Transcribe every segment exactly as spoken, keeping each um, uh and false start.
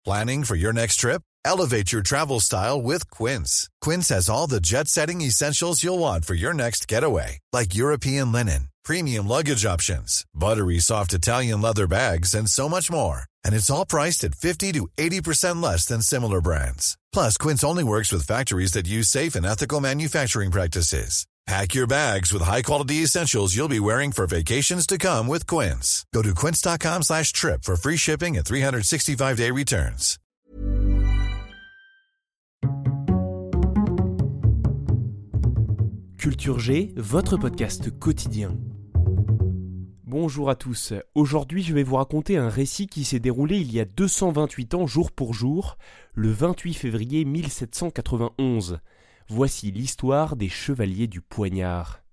Planning for your next trip? Elevate your travel style with Quince. Quince has all the jet-setting essentials you'll want for your next getaway, like European linen, premium luggage options, buttery soft Italian leather bags, and so much more. And it's all priced at fifty to eighty percent less than similar brands. Plus, Quince only works with factories that use safe and ethical manufacturing practices. Pack your bags with high-quality essentials you'll be wearing for vacations to come with Quince. Go to quince.com slash trip for free shipping and three sixty-five day returns. Culture G, votre podcast quotidien. Bonjour à tous, aujourd'hui je vais vous raconter un récit qui s'est déroulé il y a deux cent vingt-huit ans jour pour jour, le vingt-huit février mille sept cent quatre-vingt-onze. Voici l'histoire des Chevaliers du Poignard.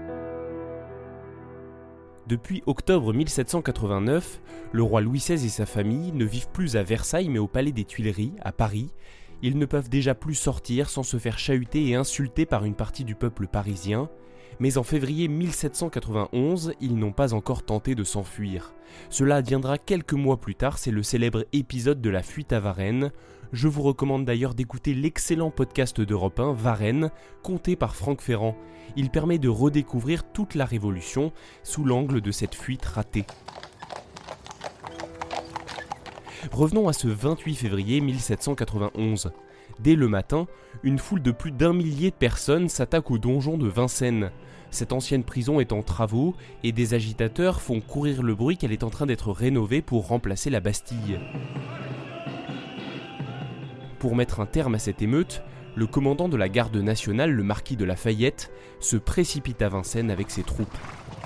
Depuis octobre mille sept cent quatre-vingt-neuf, le roi Louis seize et sa famille ne vivent plus à Versailles mais au palais des Tuileries, à Paris. Ils ne peuvent déjà plus sortir sans se faire chahuter et insulter par une partie du peuple parisien. Mais en février mille sept cent quatre-vingt-onze, ils n'ont pas encore tenté de s'enfuir. Cela adviendra quelques mois plus tard, c'est le célèbre épisode de la fuite à Varennes. Je vous recommande d'ailleurs d'écouter l'excellent podcast d'Europe un, Varennes, conté par Franck Ferrand. Il permet de redécouvrir toute la Révolution sous l'angle de cette fuite ratée. Revenons à ce vingt-huit février mille sept cent quatre-vingt-onze. Dès le matin, une foule de plus d'un millier de personnes s'attaque au donjon de Vincennes. Cette ancienne prison est en travaux et des agitateurs font courir le bruit qu'elle est en train d'être rénovée pour remplacer la Bastille. Pour mettre un terme à cette émeute, le commandant de la garde nationale, le marquis de Lafayette, se précipite à Vincennes avec ses troupes.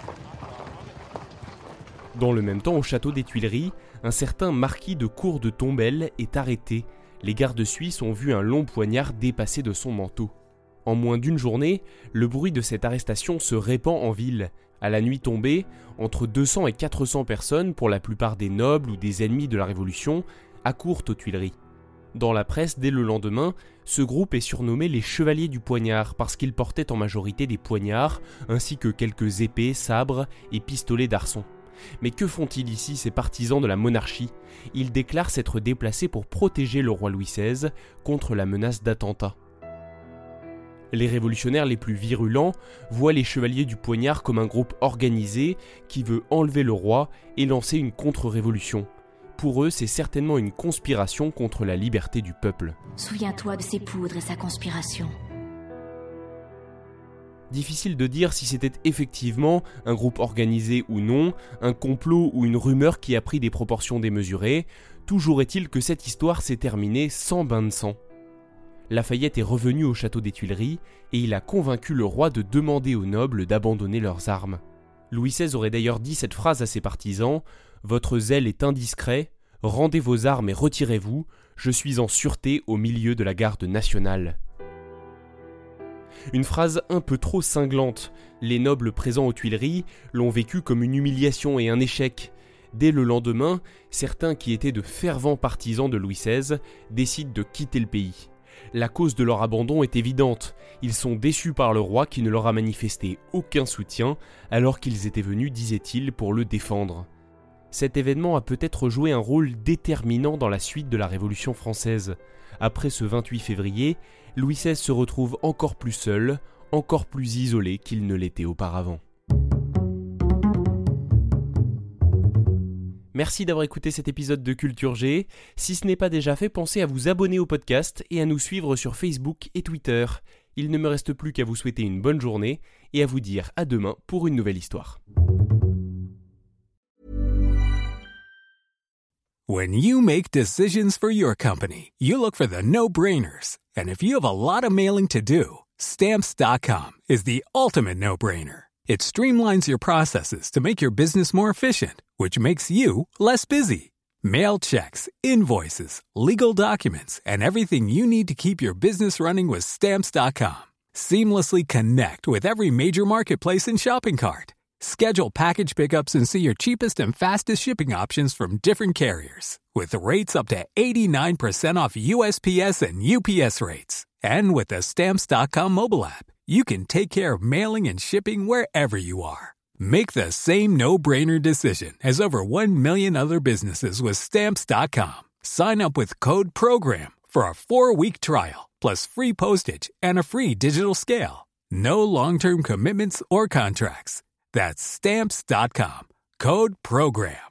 Dans le même temps, au château des Tuileries, un certain marquis de Cour de Tombelle est arrêté. Les gardes suisses ont vu un long poignard dépasser de son manteau. En moins d'une journée, le bruit de cette arrestation se répand en ville. À la nuit tombée, entre deux cents et quatre cents personnes, pour la plupart des nobles ou des ennemis de la Révolution, accourent aux Tuileries. Dans la presse, dès le lendemain, ce groupe est surnommé les Chevaliers du Poignard parce qu'ils portaient en majorité des poignards, ainsi que quelques épées, sabres et pistolets d'arçon. Mais que font-ils ici, ces partisans de la monarchie ? Ils déclarent s'être déplacés pour protéger le roi Louis seize contre la menace d'attentat. Les révolutionnaires les plus virulents voient les Chevaliers du Poignard comme un groupe organisé qui veut enlever le roi et lancer une contre-révolution. Pour eux, c'est certainement une conspiration contre la liberté du peuple. Souviens-toi de ses poudres et sa conspiration. Difficile de dire si c'était effectivement un groupe organisé ou non, un complot ou une rumeur qui a pris des proportions démesurées. Toujours est-il que cette histoire s'est terminée sans bain de sang. Lafayette est revenu au château des Tuileries et il a convaincu le roi de demander aux nobles d'abandonner leurs armes. Louis seize aurait d'ailleurs dit cette phrase à ses partisans : « Votre zèle est indiscret, rendez vos armes et retirez-vous, je suis en sûreté au milieu de la garde nationale. » Une phrase un peu trop cinglante. Les nobles présents aux Tuileries l'ont vécu comme une humiliation et un échec. Dès le lendemain, certains qui étaient de fervents partisans de Louis seize décident de quitter le pays. La cause de leur abandon est évidente. Ils sont déçus par le roi qui ne leur a manifesté aucun soutien alors qu'ils étaient venus, disait-il, pour le défendre. Cet événement a peut-être joué un rôle déterminant dans la suite de la Révolution française. Après ce vingt-huit février, Louis seize se retrouve encore plus seul, encore plus isolé qu'il ne l'était auparavant. Merci d'avoir écouté cet épisode de Culture G. Si ce n'est pas déjà fait, pensez à vous abonner au podcast et à nous suivre sur Facebook et Twitter. Il ne me reste plus qu'à vous souhaiter une bonne journée et à vous dire à demain pour une nouvelle histoire. When you make decisions for your company, you look for the no-brainers. And if you have a lot of mailing to do, Stamps dot com is the ultimate no-brainer. It streamlines your processes to make your business more efficient, which makes you less busy. Mail checks, invoices, legal documents, and everything you need to keep your business running with Stamps dot com. Seamlessly connect with every major marketplace and shopping cart. Schedule package pickups and see your cheapest and fastest shipping options from different carriers. With rates up to eighty-nine percent off U S P S and U P S rates. And with the Stamps dot com mobile app, you can take care of mailing and shipping wherever you are. Make the same no-brainer decision as over one million other businesses with Stamps dot com. Sign up with Code PROGRAM for a four-week trial, plus free postage and a free digital scale. No long-term commitments or contracts. That's Stamps dot com. Code PROGRAM.